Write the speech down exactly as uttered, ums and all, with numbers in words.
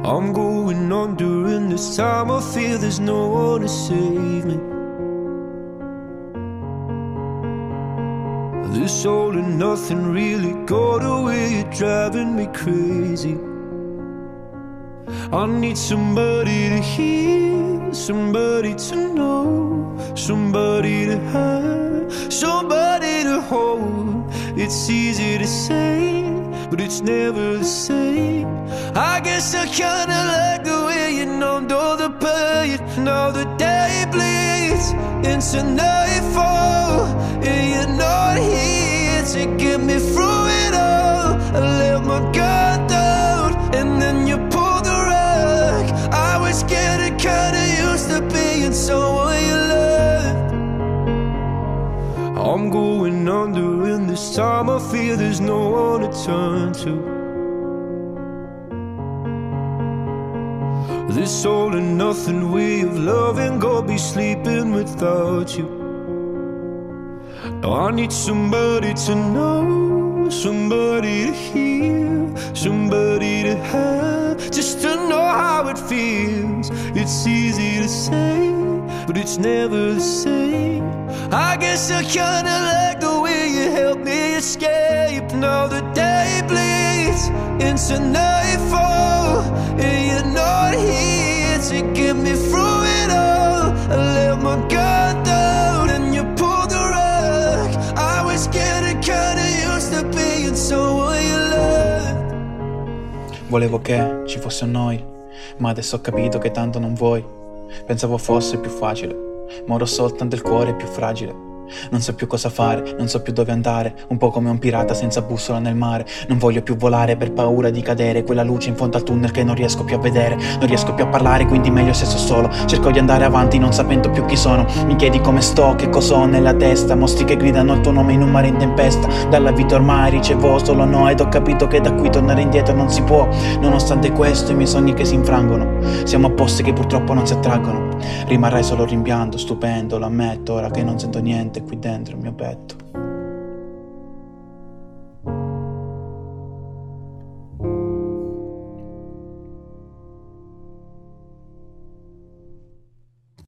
I'm going on during this time. I feel there's no one to save me. This all and nothing really got away, you're driving me crazy. I need somebody to hear, somebody to know, somebody to have, somebody to hold. It's easy to say, but it's never the same. I guess I kinda like the way you numbed all the pain. Now the day bleeds into nightfall, and you're not here to get me through it all. I let my guard down, and then you pulled the rug. I was getting kinda used to being someone you loved. I'm going under, and this time I feel there's no one to turn to. This all and nothing way of loving, go be sleeping without you. Now I need somebody to know, somebody to hear, somebody to have, just to know how it feels. It's easy to say, but it's never the same. I guess I kinda like the way you help me escape. Now the day bleeds into nightfall, and you're not here to get me through it all. I let my guard down, and you pulled the rug. I was getting kinda used to being someone you loved. Volevo che ci fosse un noi, ma adesso ho capito che tanto non vuoi. Pensavo fosse più facile, ma ora ho soltanto il cuore più fragile. Non so più cosa fare, non so più dove andare, un po' come un pirata senza bussola nel mare. Non voglio più volare per paura di cadere, quella luce in fondo al tunnel che non riesco più a vedere. Non riesco più a parlare, quindi meglio se sto solo. Cerco di andare avanti non sapendo più chi sono. Mi chiedi come sto, che cosa ho nella testa. Mostri che gridano il tuo nome in un mare in tempesta. Dalla vita ormai ricevo solo no, ed ho capito che da qui tornare indietro non si può. Nonostante questo i miei sogni che si infrangono, siamo a posti che purtroppo non si attraggono. Rimarrai solo rimpianto, stupendo, lo ammetto, ora che non sento niente qui dentro il mio petto.